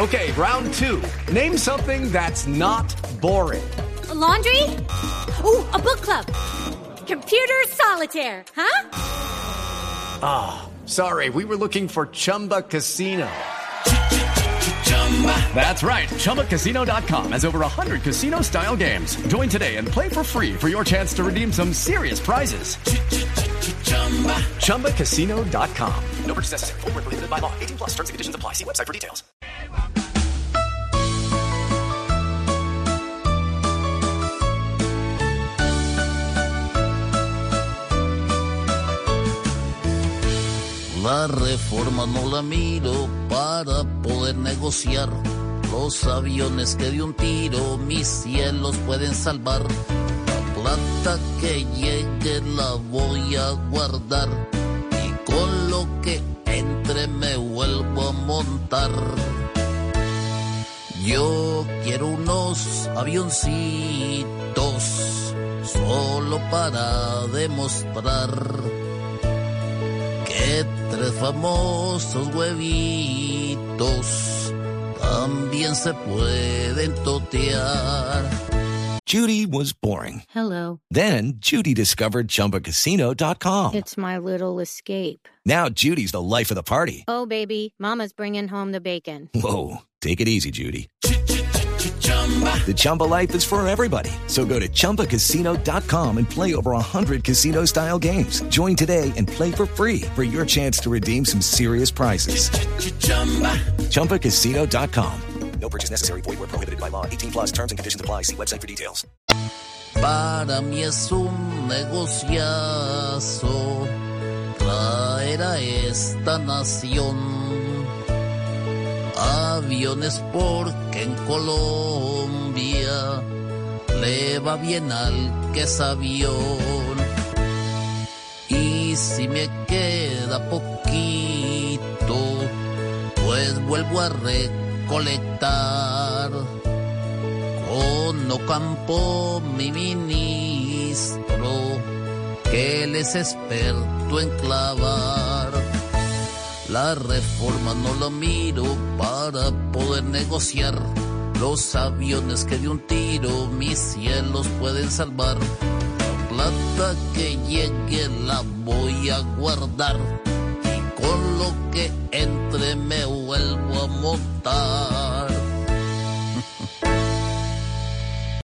Okay, round two. Name something that's not boring. A laundry? Ooh, a book club. Computer solitaire, huh? Ah, sorry, we were looking for Chumba Casino. That's right. ChumbaCasino.com has over 100 casino-style games. Join today and play for free for your chance to redeem some serious prizes. ChumbaCasino.com. No purchase necessary. Void where prohibited by law. 18 plus. Terms and conditions apply. See website for details. La reforma no la miro para poder negociar. Los aviones que de un tiro mis cielos pueden salvar. La plata que llegue la voy a guardar y con lo que entre me vuelvo a montar. Yo quiero unos avioncitos solo para demostrar que tres famosos huevitos también se pueden totear. Judy was boring. Hello. Then Judy discovered ChumbaCasino.com. It's my little escape. Now Judy's the life of the party. Oh, baby, mama's bringing home the bacon. Whoa, take it easy, Judy. The Chumba life is for everybody. So go to ChumbaCasino.com and play over 100 casino-style games. Join today and play for free for your chance to redeem some serious prizes. ChumbaCasino.com. No purchase necessary. Void where prohibited by law. 18 plus terms and conditions apply. See website for details. Para mí es un negociazo traer a esta nación aviones porque en Colombia le va bien al que es avión. Y si me queda poquito, pues vuelvo a recolectar con Ocampo, mi ministro, que él es experto en clavar. La reforma no la miro para poder negociar. Los aviones que de un tiro mis cielos pueden salvar. La plata que llegue la voy a guardar y con lo que entre me vuelvo a montar.